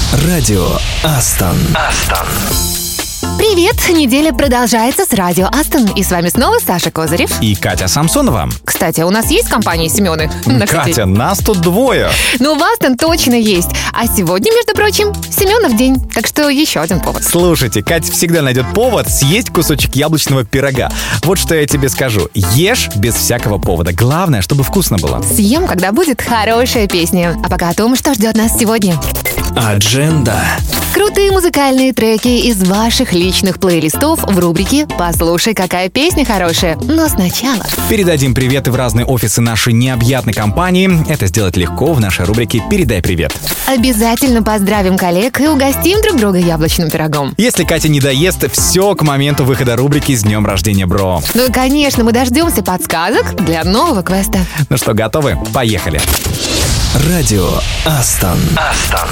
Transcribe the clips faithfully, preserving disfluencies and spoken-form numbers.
Радио Астон. Астон. Привет! Неделя продолжается с радио Астон. И с вами снова Саша Козырев и Катя Самсонова. Кстати, у нас есть компания Семены? Катя, нас тут двое. Ну, в Астон точно есть. А сегодня, между прочим, Семенов день. Так что еще один повод. Слушайте, Катя всегда найдет повод съесть кусочек яблочного пирога. Вот что я тебе скажу. Ешь без всякого повода. Главное, чтобы вкусно было. Съем, когда будет хорошая песня. А пока о том, что ждет нас сегодня. Адженда. Крутые музыкальные треки из ваших личных плейлистов в рубрике «Послушай, какая песня хорошая». Но сначала передадим приветы в разные офисы нашей необъятной компании. Это сделать легко в нашей рубрике «Передай привет». Обязательно поздравим коллег и угостим друг друга яблочным пирогом. Если Катя не доест, все к моменту выхода рубрики «С днем рождения, бро». Ну и, конечно, мы дождемся подсказок для нового квеста. Ну что, готовы? Поехали. Радио Астон. Астон.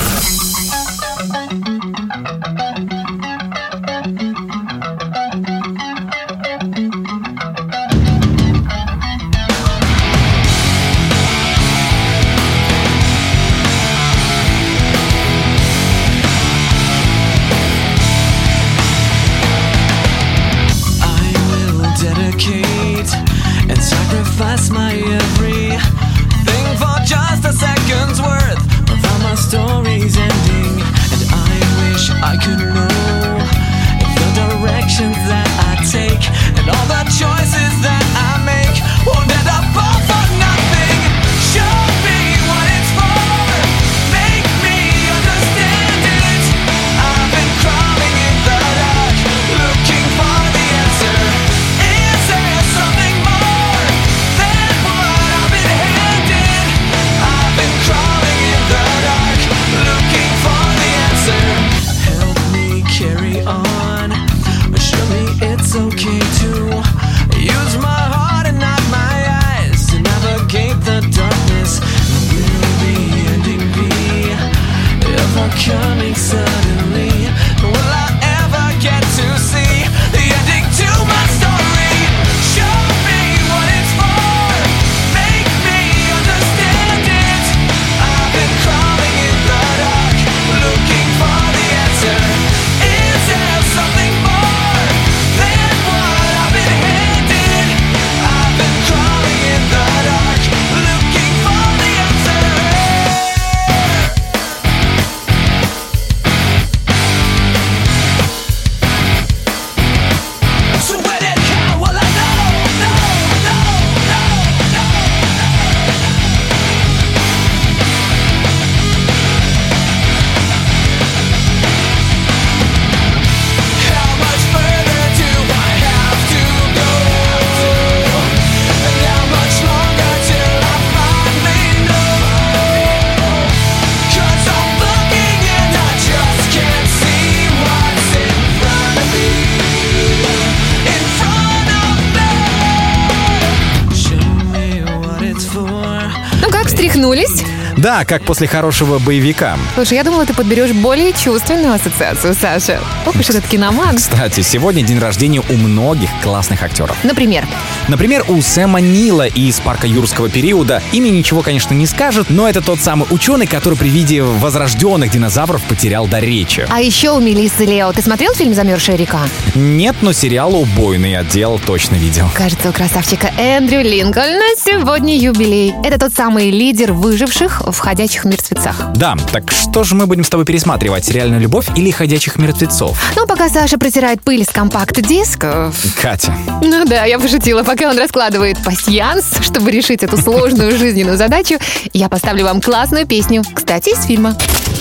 Встряхнулись? Да, как после хорошего боевика. Слушай, я думала, ты подберешь более чувственную ассоциацию, Саша. Ох уж этот киноман. Кстати, сегодня день рождения у многих классных актеров. Например? Например, у Сэма Нила из «Парка юрского периода». Имя ничего, конечно, не скажет, но это тот самый ученый, который при виде возрожденных динозавров потерял дар речи. А еще у Мелиссы Лео. Ты смотрел фильм «Замерзшая река»? Нет, но сериал «Убойный отдел» точно видел. Кажется, у красавчика Эндрю Линкольна сегодня юбилей. Это тот самый лидер выживших в «Ходячих мертвецах». Да, так что же мы будем с тобой пересматривать? «Реальную любовь» или «Ходячих мертвецов»? Ну, пока Саша протирает пыль с компакт-дисков. Катя. Ну да, я пошутила. Пока он раскладывает пасьянс, чтобы решить эту сложную жизненную задачу, я поставлю вам классную песню. Кстати, из фильма.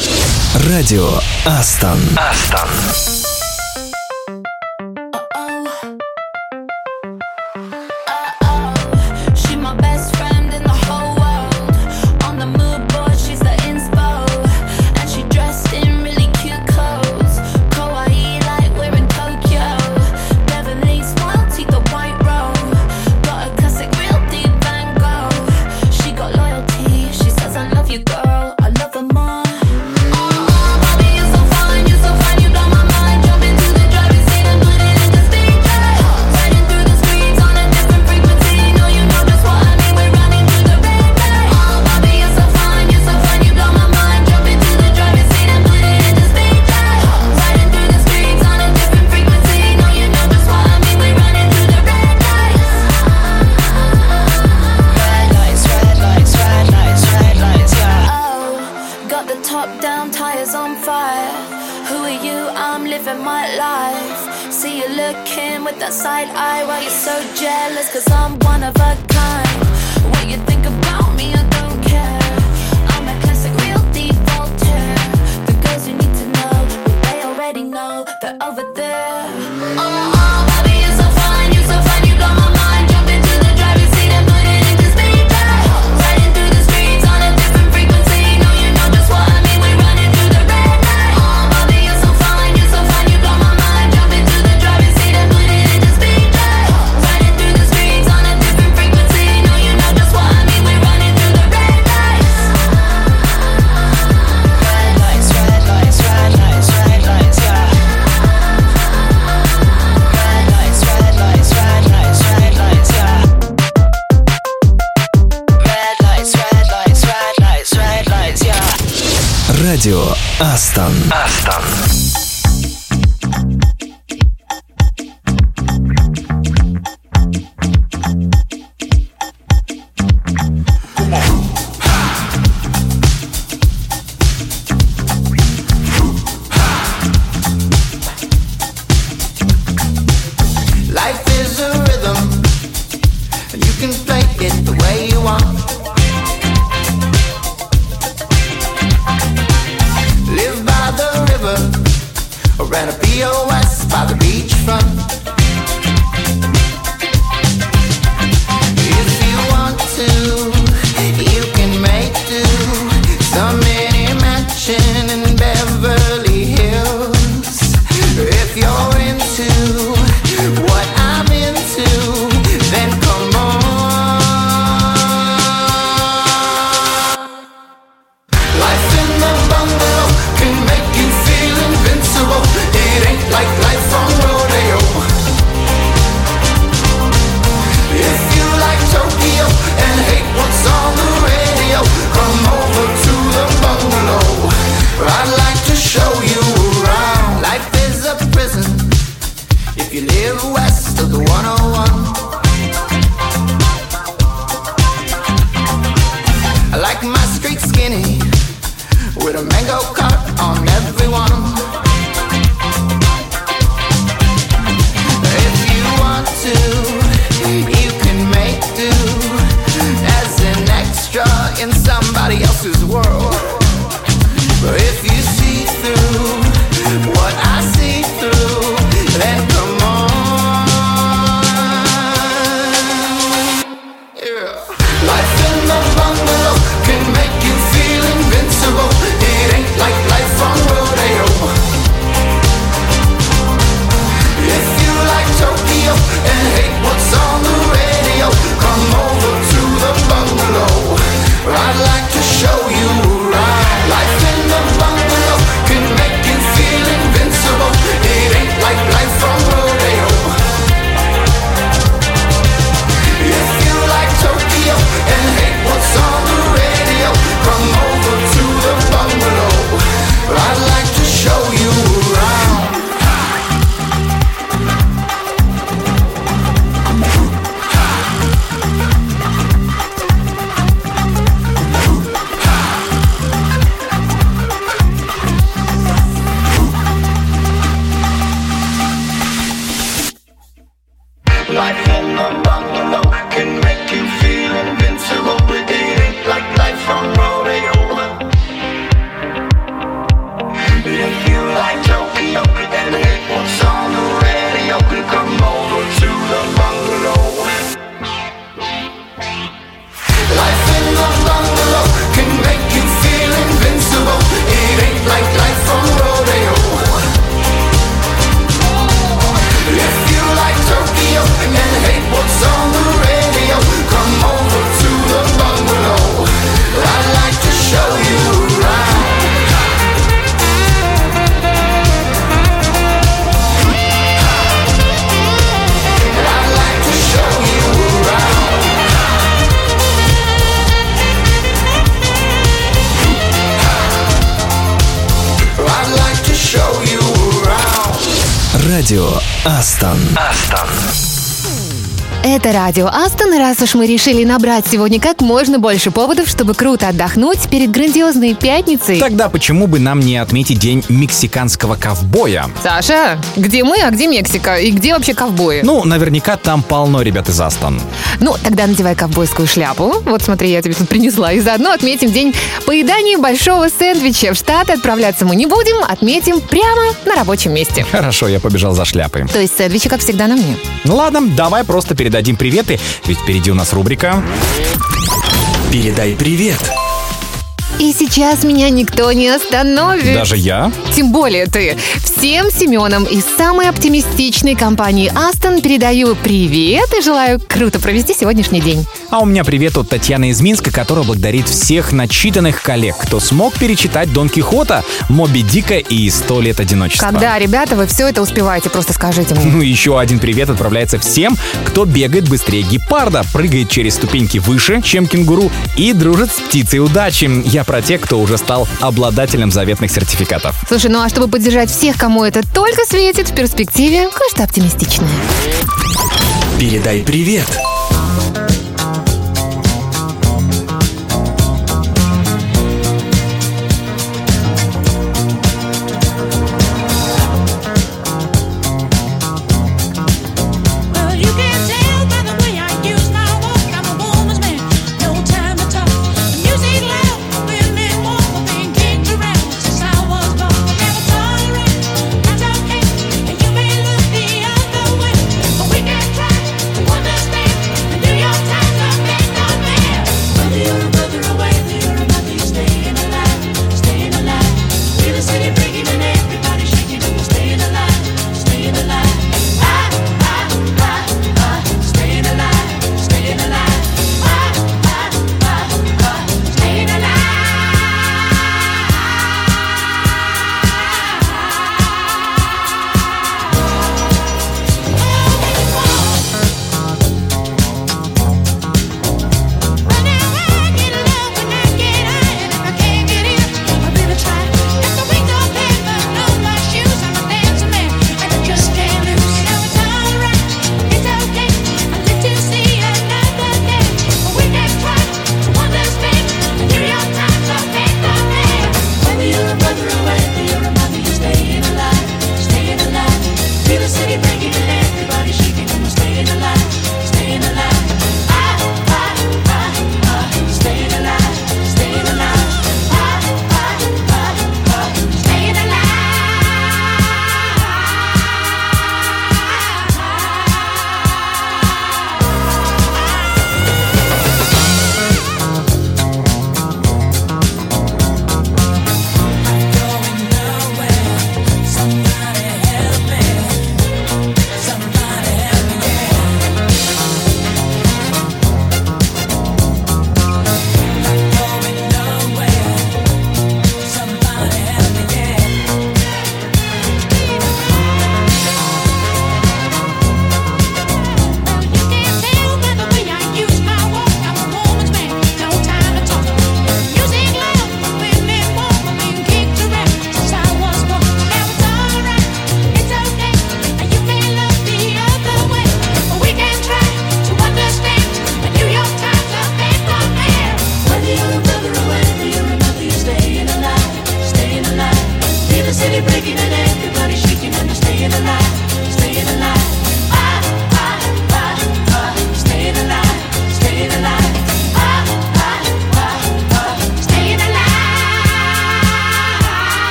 Радио Астон. Астон. Girl, I love her more. Oh, baby, you're so fine, you're so fine, you blow my mind. Got the top down, tires on fire. Who are you? I'm living my life. See you looking with that side eye while you're so jealous, cause I'm one of a kind. What you think about me, I don't care. I'm a classic, real deep Voltaire. The girls you need to know, well, they already know they're over there. Oh, oh, baby, you're so fine, you're so fine, you blow my mind. Jump into the driver's seat and put it into speed drive. Riding through the streets on a different frequency. No, you know just what I mean, we're running through the red light. Oh, baby, you're so fine, you're so fine, you blow my mind. Jump into the driver's seat and put it into speed drive. Riding through the streets on a different frequency. No, you know just what I mean, we're running through the red lights. Red lights, red lights, red lights, red lights, yeah. Red lights, red lights, red lights, red lights, yeah. Red lights, red lights, red lights, red lights, yeah. Радио Астон. Астон. Life is a rhythm, and you can play it the way you want. Live by the river, or rent a P O S by the beachfront. If you want to, you can make do. Some mini mansion in Beverly Hills. If you're into what I'm into, then come on. Life in the bungalow can make you feel invincible. It ain't like life on rodeo. If you like Tokyo and hate what's on the radio, come over to the bungalow. I'd like to show you around. Life is a prison if you live west of the one oh one. I like my street skinny with a mango cart on everyone. If you want to, you can make do as an extra in somebody else's world. But if you see through what I see through, then come on. Yeah. Life in the bungalow can make you feel invincible. It ain't like life on rodeo. If you like Tokyo and hate what's on the radio, come over to the bungalow. I'd like to show you around. Life in the bungalow can make you feel invincible. It ain't like life on rodeo. If you like Tokyo and hate what's on the radio, come over to the bungalow. I'd like to show you around. Life in the bungalow can make you feel invincible. It ain't like life on rodeo. If you like Tokyo and hate what's on the radio, come over to the bungalow. Life in the bungalow can make you feel invincible. It ain't like life on rodeo. If you like Tokyo and hate what's on the radio, come over to the bungalow. I'd like to show you around. I'd like to show you around. I'd like to show you around. Радио Астон. Астон. Это радио Астон, раз уж мы решили набрать сегодня как можно больше поводов, чтобы круто отдохнуть перед грандиозной пятницей. Тогда почему бы нам не отметить день мексиканского ковбоя? Саша, где мы, а где Мексика? И где вообще ковбои? Ну, наверняка там полно ребят из Астон. Ну, тогда надевай ковбойскую шляпу. Вот смотри, я тебе тут принесла. И заодно отметим день поедания большого сэндвича. В Штаты отправляться мы не будем, отметим прямо на рабочем месте. Хорошо, я побежал за шляпой. То есть сэндвичи, как всегда, на мне. Ну ладно, давай просто передадим приветы, ведь впереди у нас рубрика Передай привет. И сейчас меня никто не остановит. «Даже я». Тем более ты. Всем Семенам из самой оптимистичной компании Астон передаю привет и желаю круто провести сегодняшний день. А у меня привет от Татьяны из Минска, которая благодарит всех начитанных коллег, кто смог перечитать Дон Кихота, Моби Дика и «Сто лет одиночества». Когда, ребята, вы все это успеваете, просто скажите мне. Ну и еще один привет отправляется всем, кто бегает быстрее гепарда, прыгает через ступеньки выше, чем кенгуру и дружит с птицей удачи. Я про тех, кто уже стал обладателем заветных сертификатов. Слушай, ну а чтобы поддержать всех, кому это только светит, в перспективе кое-что оптимистичное. Передай привет.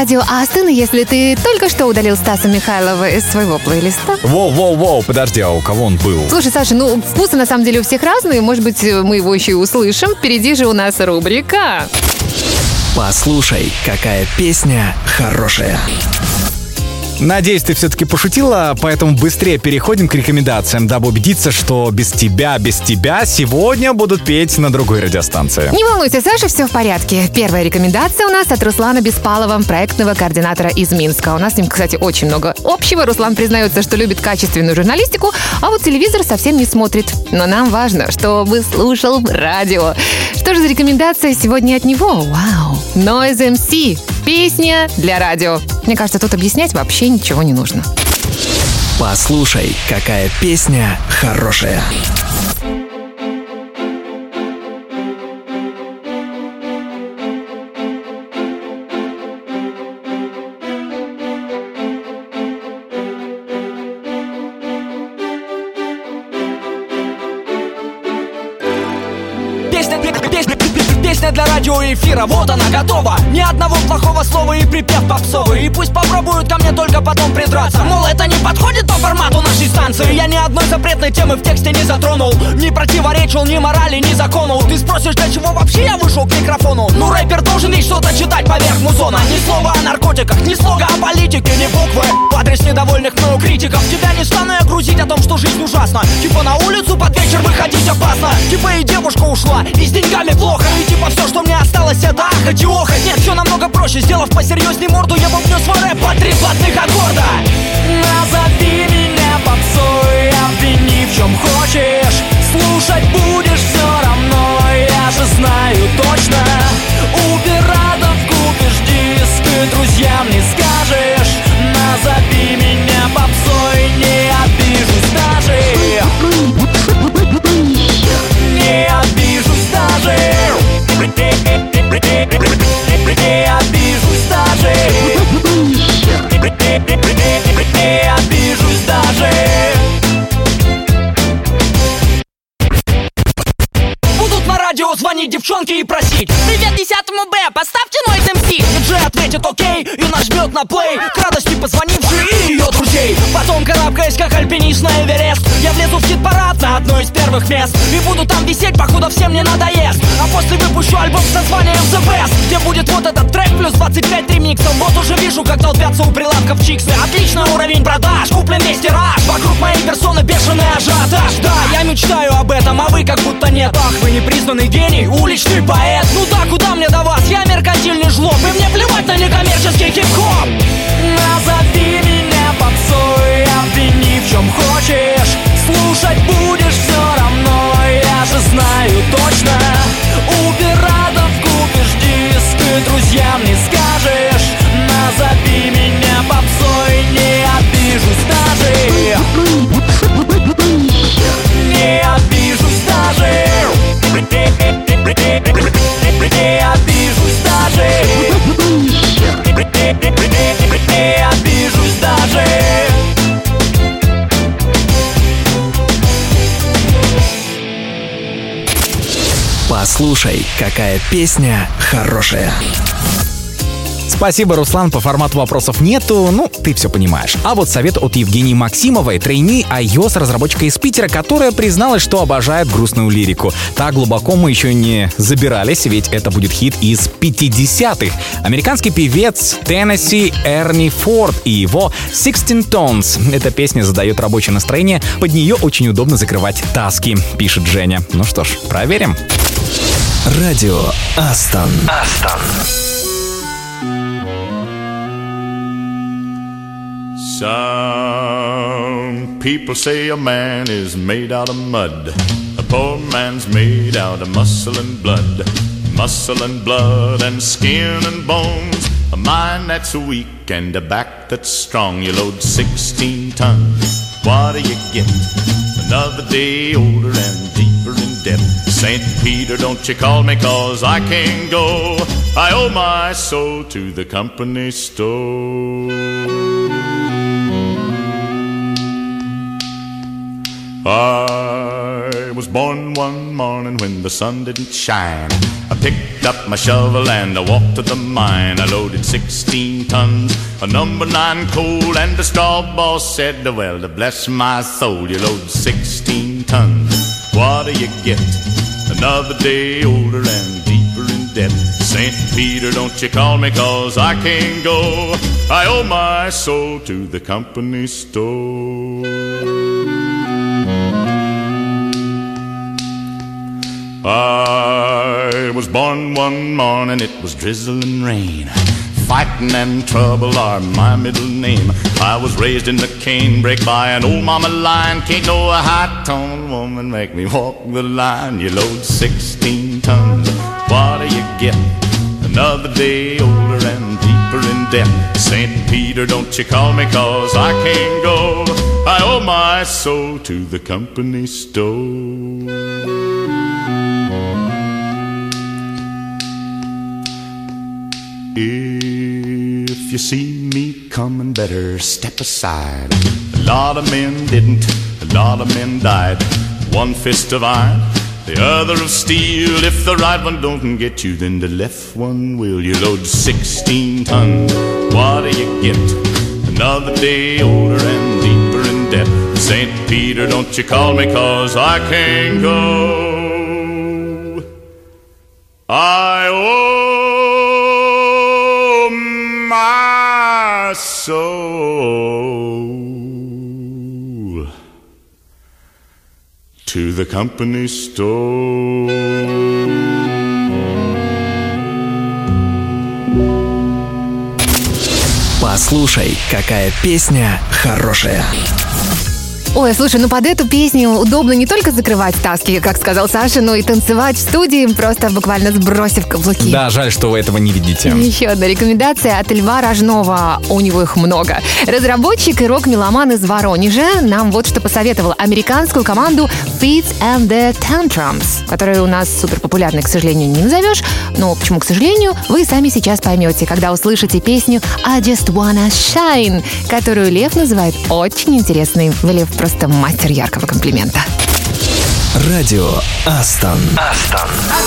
радио Астон, если ты только что удалил Стаса Михайлова из своего плейлиста. Воу-воу-воу, подожди, а у кого он был? Слушай, Саша, ну вкусы на самом деле у всех разные. Может быть, мы его еще и услышим. Впереди же у нас рубрика. Послушай, какая песня хорошая. Надеюсь, ты все-таки пошутила, поэтому быстрее переходим к рекомендациям, дабы убедиться, что без тебя, без тебя сегодня будут петь на другой радиостанции. Не волнуйся, Саша, все в порядке. Первая рекомендация у нас от Руслана Беспалова, проектного координатора из Минска. У нас с ним, кстати, очень много общего. Руслан признается, что любит качественную журналистику, а вот телевизор совсем не смотрит. Но нам важно, чтобы слушал радио. Что же за рекомендация сегодня от него? Вау! Noise эм си. Песня для радио. Мне кажется, тут объяснять вообще ничего не нужно. Послушай, какая песня хорошая. Песня для радиоэфира, вот она готова. Ни одного плохого слова и припев попсовый. И пусть попробуют ко мне только потом придраться. Мол, это не подходит по формату нашей станции. Я ни одной запретной темы в тексте не затронул. Не противоречил ни морали, ни закону. Ты спросишь, для чего вообще я вышел к микрофону? Ну, рэпер должен ведь что-то читать поверх музона. Ни слова о наркотиках, ни слога о политике, ни буквы в адрес недовольных мною критиков. Тебя не стану я грузить о том, что жизнь ужасна. Типа на улицу под вечер выходить опасно. Типа и девушка ушла, и с деньгами плохо. И типа все, что мне осталось, это ахать и охать. Нет, все намного проще, сделав посерьезней морду, я бубню свой рэп по три платных аккорда. Назови меня попсой, обвини в чем хочешь. Слушать будешь все равно, я же знаю точно. У пиратов купишь диск и друзьям не скажешь. Назови меня попсой, не обижусь даже. Не обижусь даже. Не обижусь даже. Не обижусь даже. Будут на радио звонить девчонки и просить: привет десятому Б, поставьте Noise эм си. Диджей ответит окей и нажмет на плей, к радости позвонившей и ее друзей. Потом, карабкаясь как альпинист на Эверест, я влезу в хит-парад на одно из первых мест. И буду там висеть, походу всем не надоест. А после выпущу альбом с названием The Best, где будет вот этот трек плюс двадцать пять ремиксов. Вот уже вижу, как толпятся у прилавков чиксы. Отличный уровень продаж, куплен весь тираж. Вокруг моей персоны бешеный ажиотаж. Да, я мечтаю об этом, а вы как будто нет. Ах, вы непризнанный гений, уличный поэт. Ну да, куда мне до вас, я меркантильный жлоб. И мне плевать на некоммерческий хип-хоп. Назови меня попсой, обвини в чем хочешь. Слушать будешь все равно, я же знаю точно. У пиратов купишь диск и друзьям не скажешь. Назови меня попсой, не обижусь даже. Не обижусь даже. Не обижусь даже. Не обижусь даже. Послушай, какая песня хорошая. Спасибо, Руслан, по формату вопросов нету, ну, ты все понимаешь. А вот совет от Евгении Максимовой, трейни iOS разработчика из Питера, которая призналась, что обожает грустную лирику. Так глубоко мы еще не забирались, ведь это будет хит из пятидесятых. Американский певец Теннесси Эрни Форд и его sixteen Tones. Эта песня задает рабочее настроение, под нее очень удобно закрывать таски, пишет Женя. Ну что ж, проверим. Радио Астон. Астон. Some people say a man is made out of mud. A poor man's made out of muscle and blood. Muscle and blood and skin and bones. A mind that's weak and a back that's strong. You load sixteen tons, what do you get? Another day older and deeper in debt. Saint Peter, don't you call me, cause I can't go. I owe my soul to the company store. I was born one morning when the sun didn't shine. I picked up my shovel and I walked to the mine. I loaded sixteen tons of number nine coal, and the straw boss said, well, to bless my soul, you load sixteen tons. What do you get? Another day older and deeper in debt. Saint Peter, don't you call me, cause I can't go. I owe my soul to the company store. I was born one morning, it was drizzling rain. Fighting and trouble are my middle name. I was raised in the canebrake by an old mama lion. Can't no high-toned woman make me walk the line. You load sixteen tons, what do you get? Another day older and deeper in debt. Saint Peter, don't you call me, cause I can't go. I owe my soul to the company store. If you see me coming, better step aside. A lot of men didn't, a lot of men died. One fist of iron, the other of steel. If the right one don't get you, then the left one will. You load sixteen tons, what do you get? Another day older and deeper in debt. Saint Peter, don't you call me, cause I can't go. I owe my soul to the company store. Послушай, какая песня хорошая. Ой, слушай, ну под эту песню удобно не только закрывать таски, как сказал Саша, но и танцевать в студии, просто буквально сбросив каблуки. Да, жаль, что вы этого не видите. Еще одна рекомендация от Льва Рожнова. У него их много. Разработчик и рок-меломан из Воронежа нам вот что посоветовал. Американскую команду Fits and the Tantrums, которая у нас супер популярной, к сожалению, не назовешь. Но почему, к сожалению, вы сами сейчас поймете, когда услышите песню I Just Wanna Shine, которую Лев называет очень интересной. Лев просто мастер яркого комплимента. Радио Астон. Астон.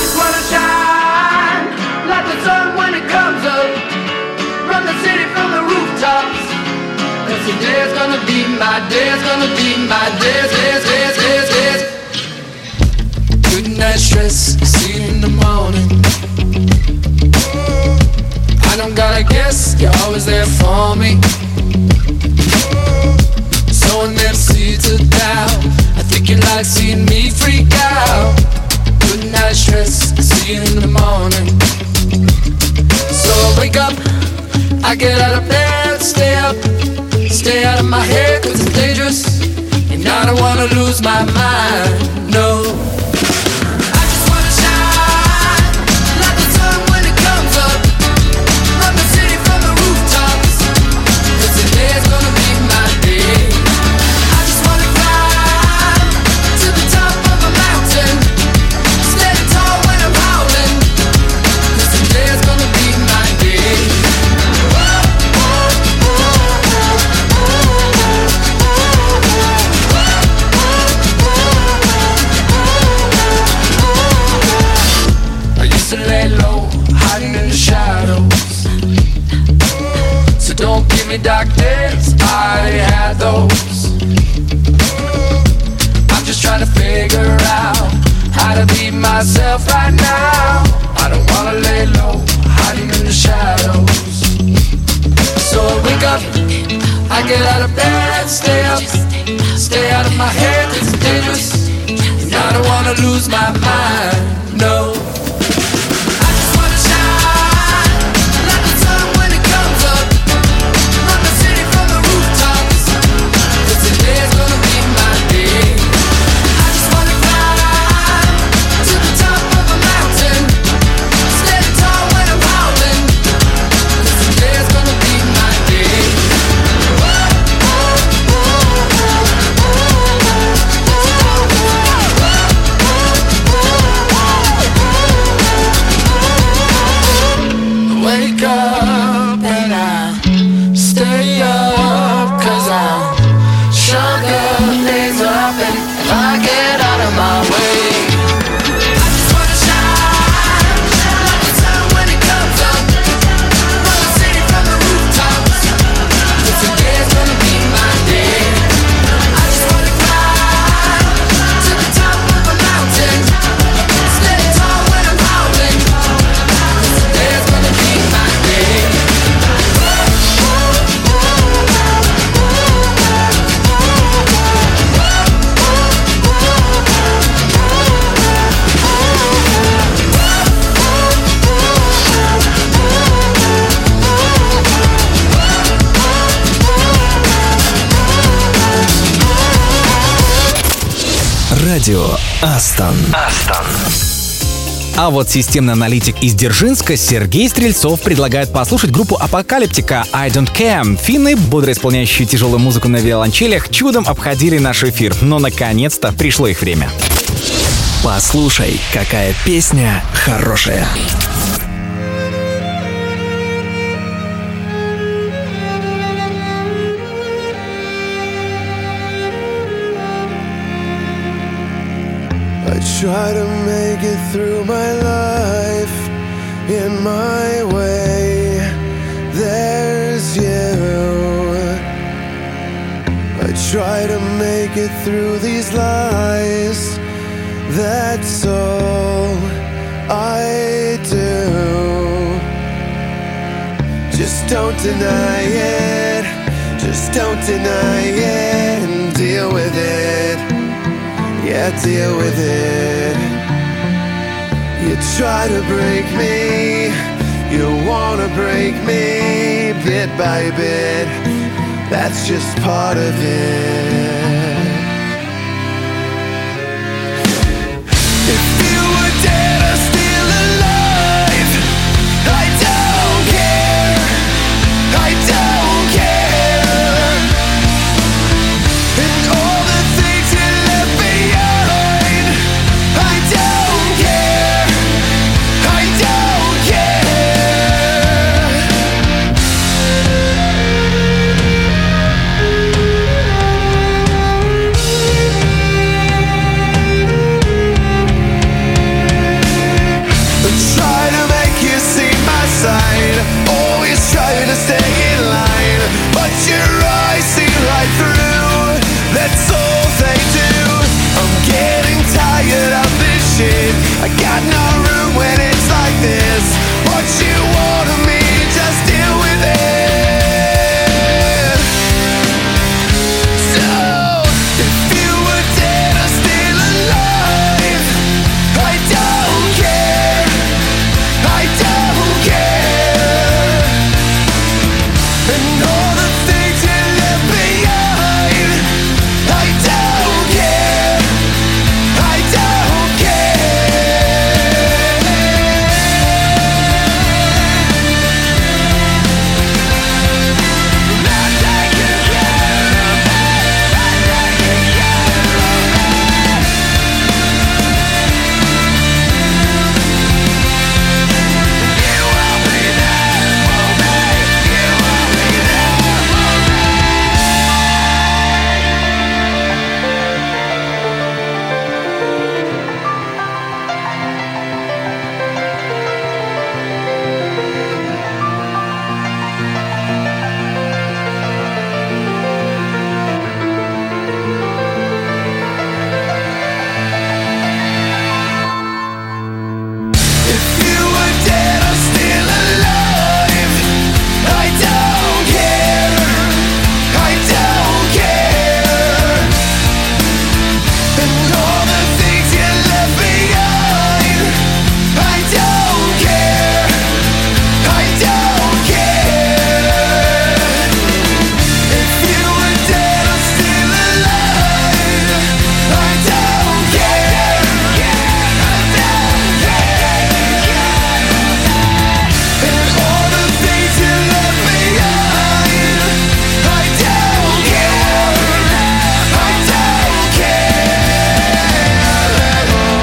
Good night stress, see you in the morning. I don't gotta guess, you're always there for me. Sowing them seeds of doubt, I think you like seeing me freak out. Good night stress, see you in the morning. So I wake up, I get out of bed, stay up, stay out of my head cause it's dangerous. And I don't wanna lose my mind, no. Dark days, I already had those. I'm just trying to figure out how to be myself right now. I don't wanna lay low, hiding in the shadows. So I wake up, I get out of bed, stay up, stay out of my head, it's dangerous. And I don't wanna lose my mind, no. Tall Радио Астон. Астон. А вот системный аналитик из Дзержинска Сергей Стрельцов предлагает послушать группу Апокалиптика I Don't Care. Финны, бодро исполняющие тяжелую музыку на виолончелях, чудом обходили наш эфир, но наконец-то пришло их время. Послушай, какая песня хорошая. I try to make it through my life in my way. There's you. I try to make it through these lies. That's all I do. Just don't deny it. Just don't deny it and deal with it. Yeah, deal with it. You try to break me, you wanna break me bit by bit. That's just part of it. If you were dead or still alive, I don't care, I don't care. And all the things you left behind, I don't care, I don't care. I try to make you see my side, always try to stay in line, but your eyes see right through, that's all they do. I'm getting tired of this shit, I got no room when it's like this. What you want of me, just deal with it. So, if you were dead or still alive, I don't care, I don't care. And all the things you left behind, I don't care, I don't care. Not taking care of me, not taking care of me. You won't be there for me, you won't be there for me. If you were dead or still alive, I don't care, I don't care. And all the things you left behind, I don't care, I don't care. If you were dead or still alive, I don't care, I don't care. And all the things you left behind, I don't care, I don't care at all.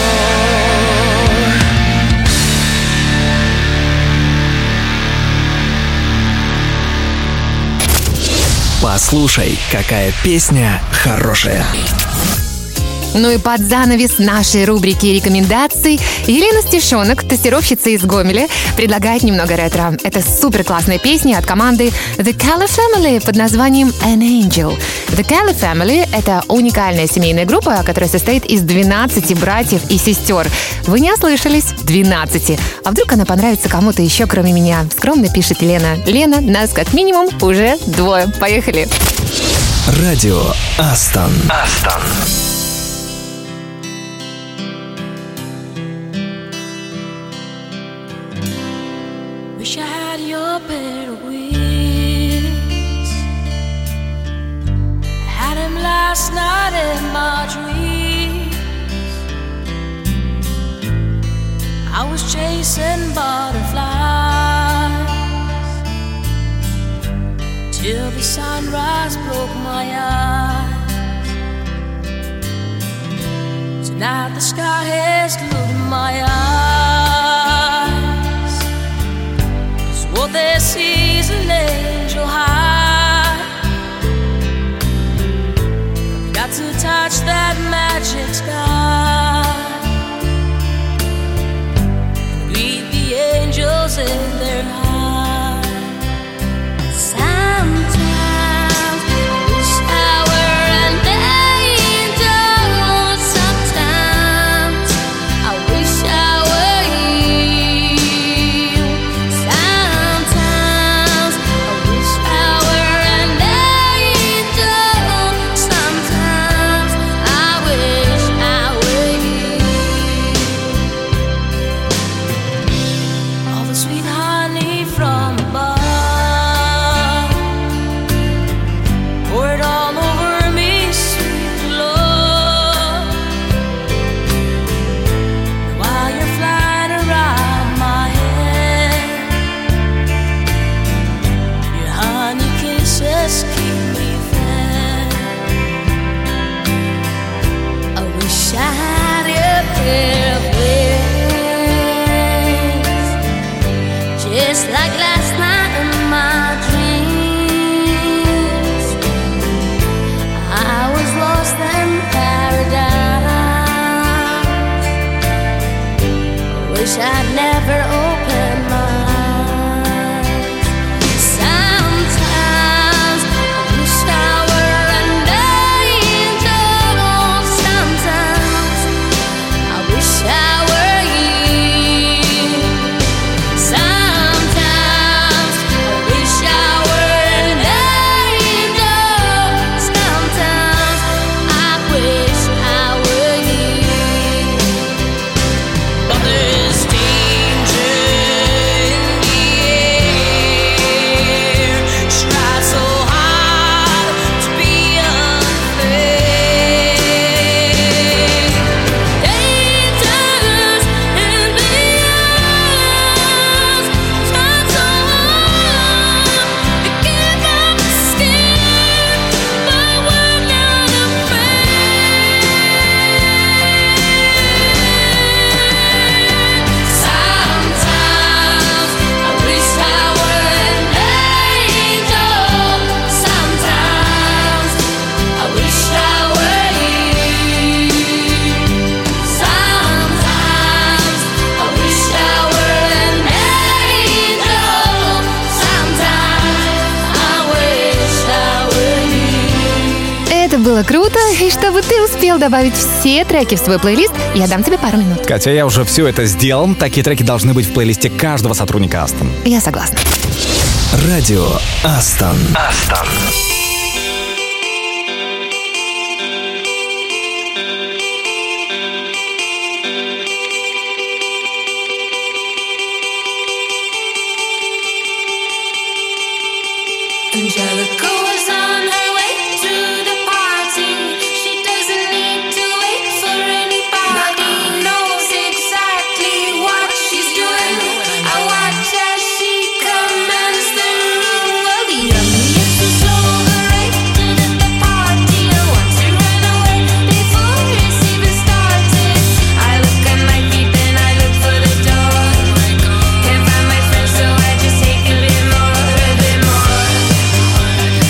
Послушай, какая песня хорошая. Ну и под занавес нашей рубрики рекомендаций Елена Стешонок, тестировщица из Гомеля, предлагает немного ретро. Это супер классная песня от команды The Callie Family под названием An Angel. The Callie Family — это уникальная семейная группа, которая состоит из двенадцати братьев и сестер. Вы не ослышались? двенадцати. А вдруг она понравится кому-то еще, кроме меня? Скромно пишет Лена. Лена, нас как минимум уже двое. Поехали. Радио Астон. Астон. Wish I had your better wings. Had him last night in my dreams. I was chasing butterflies till the sunrise broke my eyes. Tonight the sky has glued my eyes, 'cause what they see is an angel high. Got to touch that magic sky, greet the angels in their high. Sometimes I wish I were an angel. Sometimes I wish I were you. Sometimes I wish I were an angel. Sometimes I wish I were you. All the sweet honey from above, pour it all over me, sweet love. While you're flying around my head, your honey kisses keep me fed. I wish I had a pair of wings, just like last night in my dreams. I was lost in paradise. I wish I'd never opened my eyes. Sometimes I wish I were an angel. Sometimes I wish I were you. Sometimes I wish I were an angel. Sometimes I wish I were you. But there's danger in the air. Try so hard to be unfair. Dangers in the eyes. Try so hard to give up the skin, but we're not afraid. Sometimes I wish I were an angel. Sometimes I wish I were you. Sometimes I wish I were an angel. Sometimes I wish I were you. Это было круто, и чтобы ты успел добавить все треки в свой плейлист, я дам тебе пару минут. Катя, я уже все это сделал. Такие треки должны быть в плейлисте каждого сотрудника Астон. Я согласна. Радио Астон. Астон. Angelica was on her way to the party. She doesn't need to wait for anybody. Knows exactly what she's doing. I watch as she commands the room. Well, the youngiest was overrated at the party. I want to run away before it's even started. I look at my feet and I look for the door. Can't find my friends, so I just take a bit more, a bit more.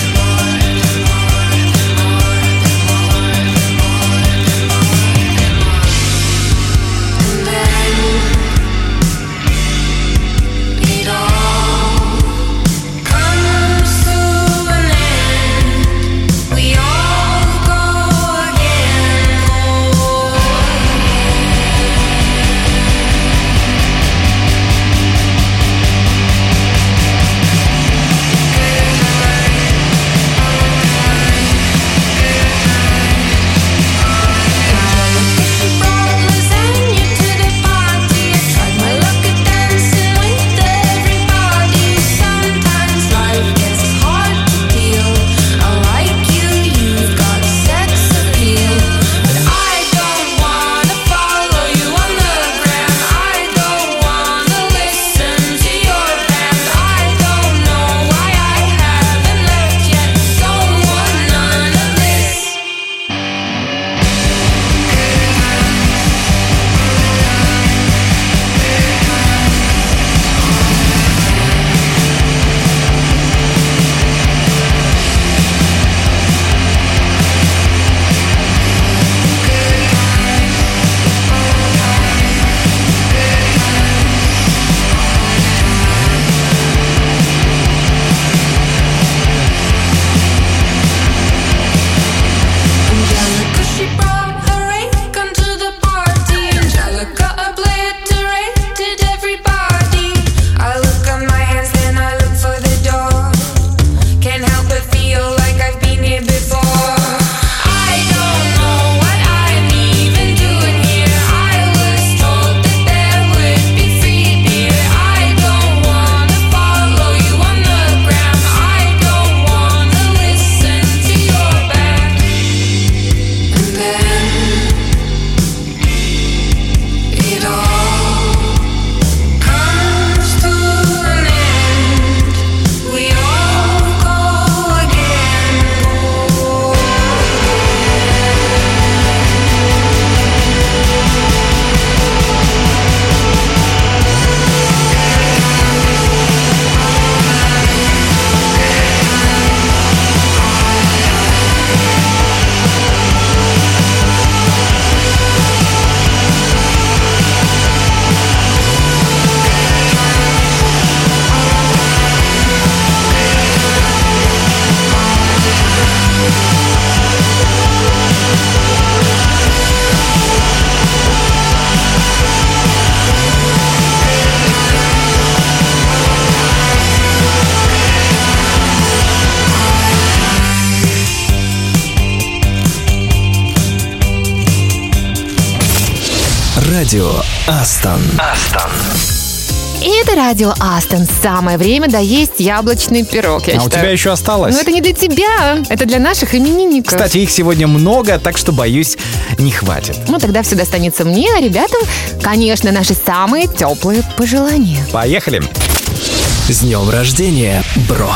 Радио Астон. Астон. И это радио Астон. Самое время доесть яблочный пирог, я А считаю. у тебя еще осталось? Но это не для тебя, это для наших именинников. Кстати, их сегодня много, так что, боюсь, не хватит. Ну, тогда все достанется мне, а ребятам, конечно, наши самые теплые пожелания. Поехали! С днем рождения, бро!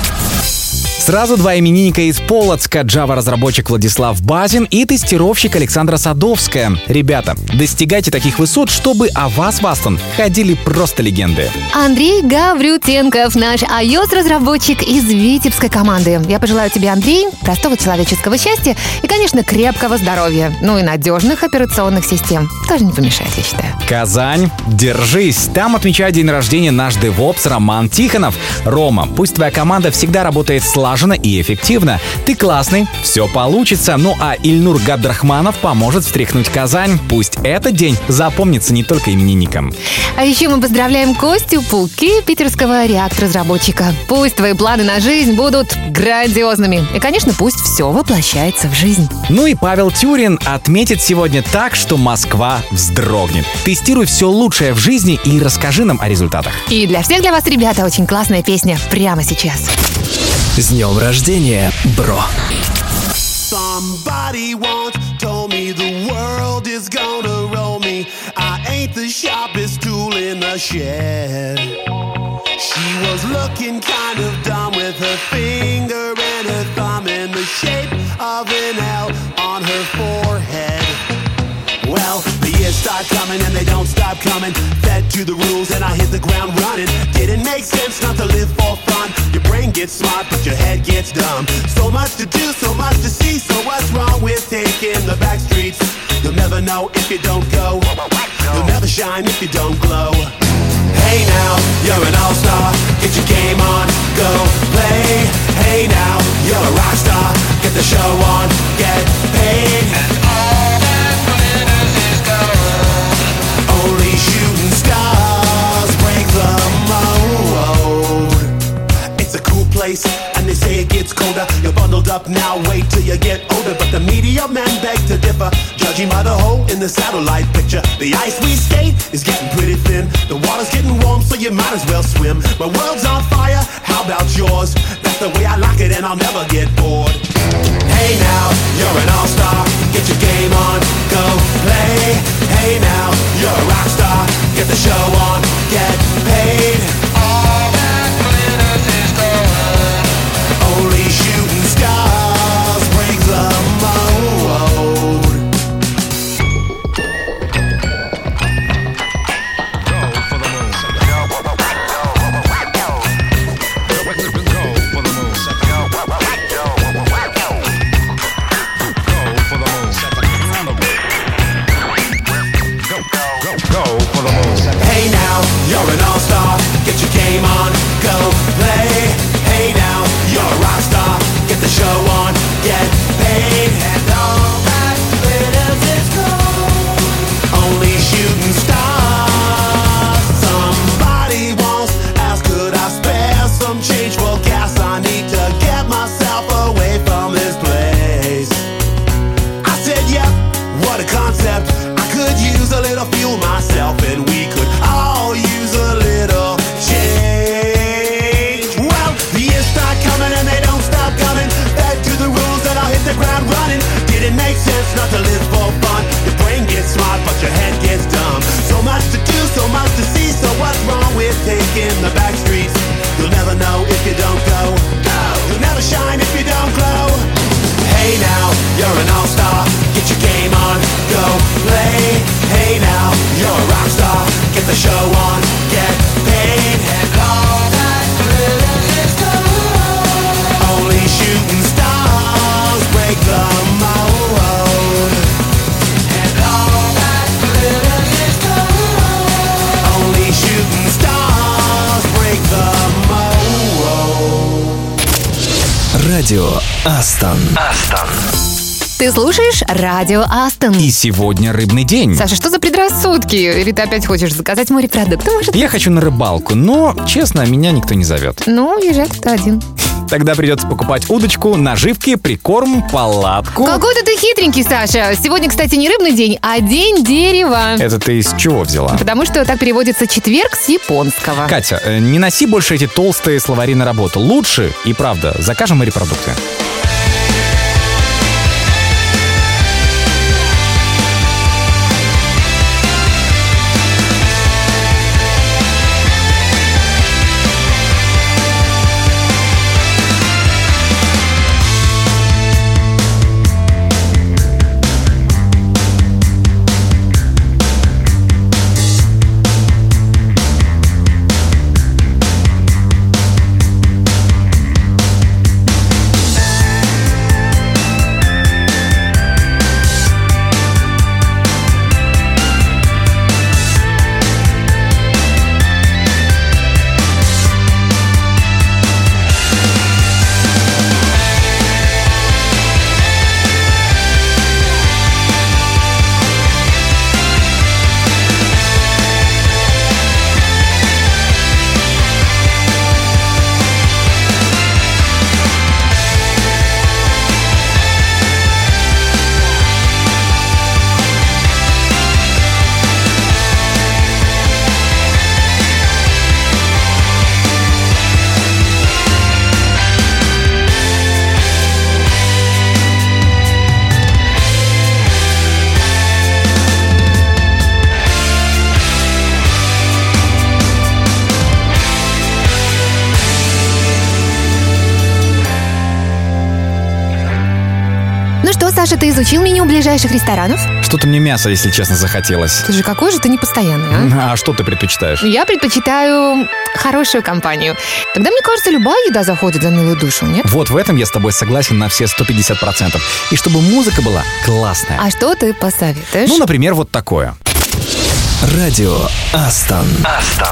Сразу два именинника из Полоцка: Java-разработчик Владислав Базин и тестировщик Александра Садовская. Ребята, достигайте таких высот, чтобы о вас в Астон ходили просто легенды. Андрей Гаврютенков, наш iOS-разработчик из витебской команды. Я пожелаю тебе, Андрей, простого человеческого счастья и, конечно, крепкого здоровья. Ну и надежных операционных систем. Тоже не помешает, я считаю. Казань, держись! Там отмечает день рождения наш девопс Роман Тихонов. Рома, пусть твоя команда всегда работает слаженно и эффективно. Ты классный, все получится. Ну а Ильнур Габдрахманов поможет встряхнуть Казань. Пусть этот день запомнится не только именинникам. А еще мы поздравляем Костю Пулки, питерского реактор-разработчика. Пусть твои планы на жизнь будут грандиозными. И, конечно, пусть все воплощается в жизнь. Ну и Павел Тюрин отметит сегодня так, что Москва вздрогнет. Тестируй все лучшее в жизни и расскажи нам о результатах. И для всех для вас, ребята, очень классная песня прямо сейчас. С днем рождения, бро! Somebody once told me the world is gonna roll me. I ain't the sharpest tool in the shed. She was looking kind of dumb with her finger and her thumb in the shape of an L on her forehead. Well, the years start coming and they don't stop coming. Fed to the rules and I hit the ground running. Didn't make sense not to live for fun. Your brain gets smart but your head gets dumb. So much to do, so much to see. So what's wrong with taking the back streets? You'll never know if you don't go. You'll never shine if you don't glow. Hey now, you're an all-star. Get your game on, go play. Hey now, you're a rock star. Get the show on, get paid. And all that glitters is gold. Only shooting stars break the mold. It's a cool place, and they say it gets colder. You're bundled up now, wait till you get older. But the media men beg to differ, judging by the hole in the satellite picture. The ice we skate is getting pretty thin. The water's getting warm, so you might as well swim. My world's on fire, how about yours? That's the way I like it, and I'll never get bored. Hey now, you're an all-star. Get your game on, go play. Hey now, you're a rock star. Get the show on, get paid. All that glitters is gold. Only shooting stars break the mold. Hey now, you're an all-star. Get your game on, go play. Hey now, you're a rock star. Get the show on, get paid. And all that glitters is gold. Only shooting stars. Somebody once asked, could I spare some change for gas? I need to get myself away from this place. I said, yep, what a concept. I could use a little fuel myself, and we could all use a little change. Well, the years start coming and they don't stop coming. Back to the rules and I'll hit the ground running. Didn't make sense not to live for fun. Your brain gets smart but your head gets dumb. So much to do, so much to see. So what's wrong with taking the back streets? You'll never know if you don't go. No, you'll never shine if you don't glow. Hey now, you're an all-star. Get your game on, go play. Hey now, you're a rock star. Get the show on, get paid. And all that glitters is gold. Only shooting stars break the mold. And all that glitters is gold. Only shooting stars break the mold. Радио Астон. Астон. Ты слушаешь радио Астон. И сегодня рыбный день. Саша, что за предрассудки? Или ты опять хочешь заказать морепродукты, может? Я хочу на рыбалку, но, честно, меня никто не зовет. Ну, езжай ты один. Тогда придется покупать удочку, наживки, прикорм, палатку. Какой-то ты хитренький, Саша. Сегодня, кстати, не рыбный день, а день дерева. Это ты из чего взяла? Потому что так переводится четверг с японского. Катя, э, не носи больше эти толстые словари на работу. Лучше, и правда, закажем морепродукты. Саша, ты изучил меню ближайших ресторанов? Что-то мне мясо, если честно, захотелось. Слушай, какой же ты непостоянный, а? А что ты предпочитаешь? Я предпочитаю хорошую компанию. Тогда, мне кажется, любая еда заходит за милую душу, нет? Вот в этом я с тобой согласен на все сто пятьдесят процентов. И чтобы музыка была классная. А что ты посоветуешь? Ну, например, вот такое. Радио Астон. Астон.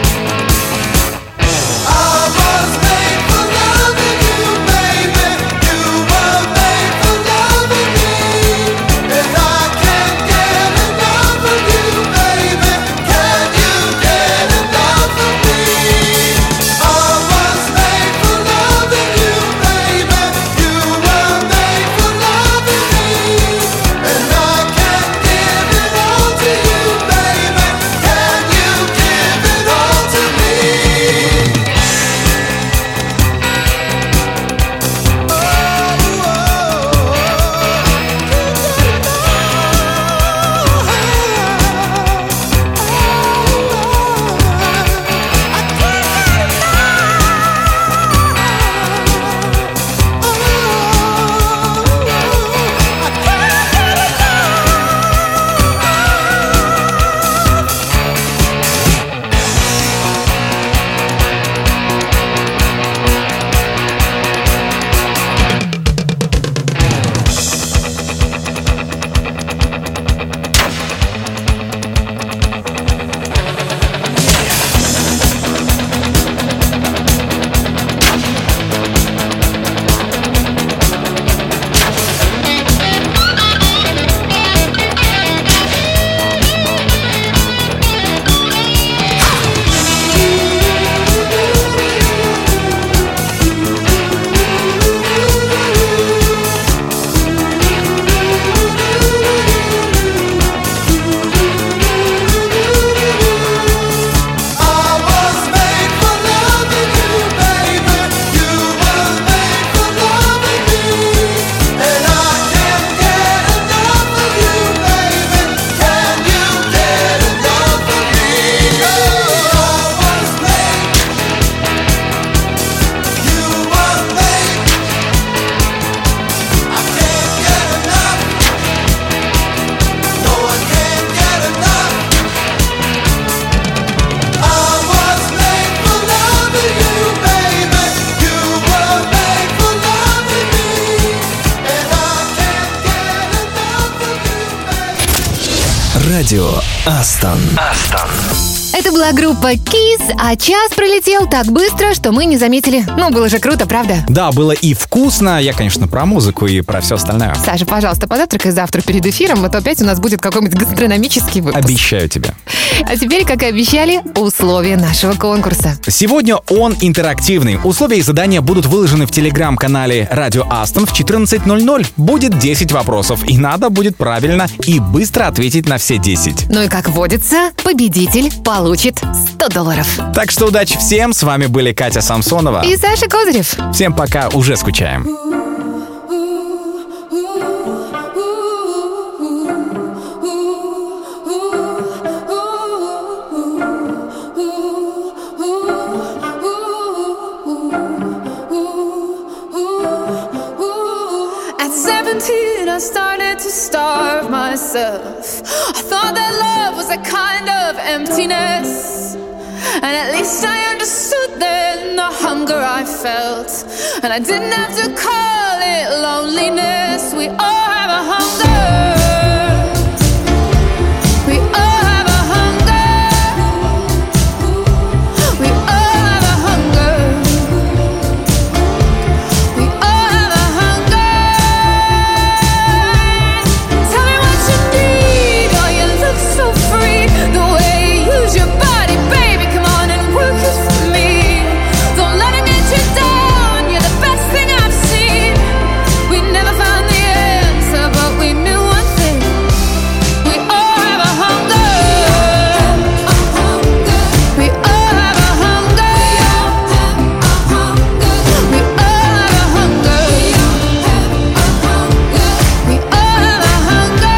I was made for loving you, baby. Радио Астон. Астон. Это была группа Kiss, а час пролетел так быстро, что мы не заметили. Ну, было же круто, правда? Да, было и вкусно. Я, конечно, про музыку и про все остальное. Саша, пожалуйста, позавтракай завтра перед эфиром, а то опять у нас будет какой-нибудь гастрономический выпуск. Обещаю тебе. А теперь, как и обещали, условия нашего конкурса. Сегодня он интерактивный. Условия и задания будут выложены в телеграм-канале Радио Астон в четырнадцать ноль ноль. Будет десять вопросов, и надо будет правильно и быстро ответить на все десять. Ну и как водится, победитель получит сто долларов. Так что удачи всем. С вами были Катя Самсонова и Саша Козырев. Всем пока, уже скучаем. I started to starve myself. I thought that love was a kind of emptiness, and at least I understood then the hunger I felt, and I didn't have to call it loneliness. We all have a hunger. We all have a hunger. We all have a hunger. We all have a hunger. Tell me what you need. Oh, you look so free. The way you use your body, baby. Come on and work it for me. Don't let it get you down. You're the best thing I've seen. We never found the answer, but we knew one thing. We all have a hunger. We all have a hunger. We all have a hunger. We all have a hunger.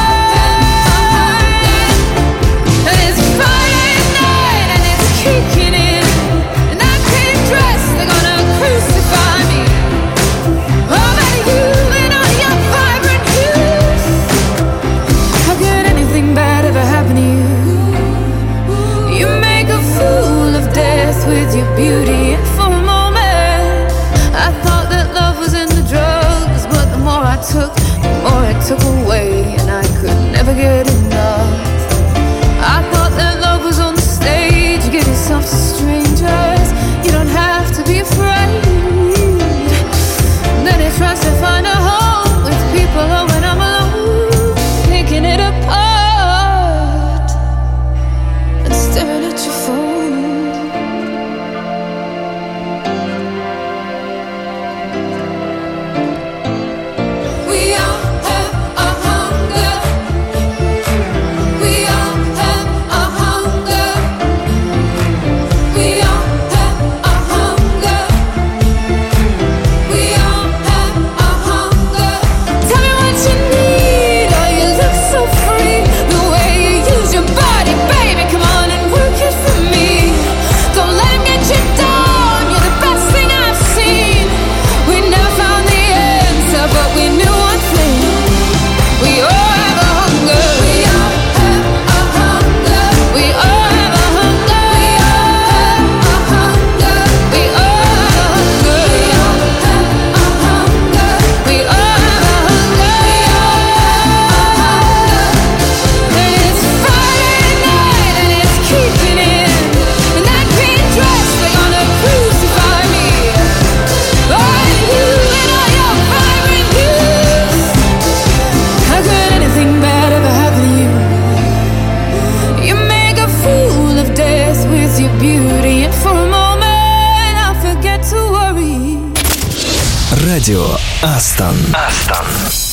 And it's Friday night and it's kicking in, and I can't dress. They're gonna crucify me. Oh, but you and all your vibrant hues. How could anything bad ever happen to you? You make a fool of death with your beauty, and for a moment I thought that love was in the drugs, but the more I took, the more it took away, and I could never get enough. I thought that love was on the stage. Give yourself to strangers. You don't have to be afraid. Then it tries to find a home with people, oh, when I'm alone, picking it apart and staring at your phone. We all have a hunger. We all have a hunger. We all have a hunger. We all have a hunger. Tell me what you need. Oh, you look so free. The way you use your body, baby. Come on and work it for me. Don't let him get you down. You're the best thing I've seen. We never found the answer, but we knew one thing. We all have a hunger. We all have a hunger. We all have a hunger. We all have a hunger. We all have a hunger. We all have a hunger. And it's Friday night and it's kicking in, and I can't dress. They're gonna crucify me. Oh, you and all your vibrant hues. How could anything bad ever happen to you? You make a fool of death with your beauty, and for a moment I forget to worry. Радио Астон. Астон.